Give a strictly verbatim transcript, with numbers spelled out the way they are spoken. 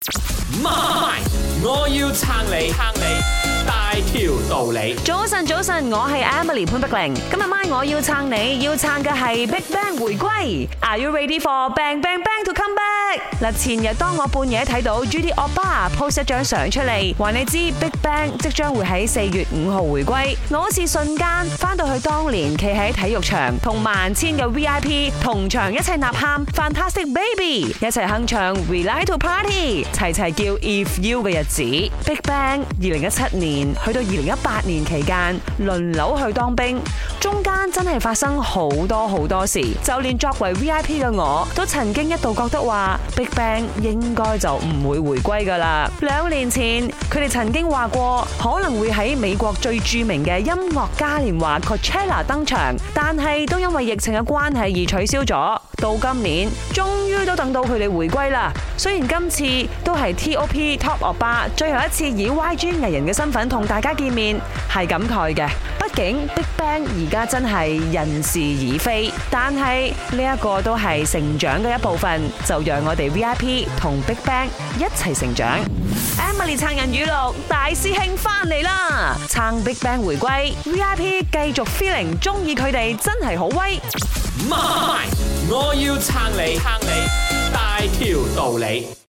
媽，我要撐你，撐你大條道理。 早晨，早晨，我係 Emily 潘碧玲。今日晚我要撐你，要撐嘅係 Big Bang 回歸。Are you ready for Bang Bang Bang to come back？ 嗱，前日當我半夜睇到 Judy Oppa post 一張相出嚟，話你知 Big Bang 即將會喺四月五號回歸，我好似瞬間翻到去當年企喺體育場同萬千嘅 V I P 同場一齊吶喊 Fantastic Baby， 一齊哼唱 We Like to Party， 齊齊叫 If You 嘅日子。Big Bang 二零一七年去到二零一八年期間輪流去當兵，中間真係發生好多好多事，就連作為 V I P 嘅我都曾經一度覺得話 Big Bang 應該就唔會回歸噶啦。兩年前佢哋曾經話過可能會喺美國最著名嘅音樂嘉年華 Coachella 登場，但係都因為疫情嘅關係而取消咗。到今年終於都等到佢哋回歸啦。雖然今次都係 T O P Top Oppa 最後一次以 Y G 藝人嘅身份同大家見面，係感慨嘅。畢竟 Big Bang 而家真係人事已非，但係呢一個都係成長嘅一部分，就讓我哋 V I P 同 Big Bang 一齊成長。Emily 撐人語錄，大師兄翻嚟啦！撐 Big Bang 回歸 ，V I P 繼續 feeling 中意佢哋真係好威。 媽，我要撐你，撐你大條道理。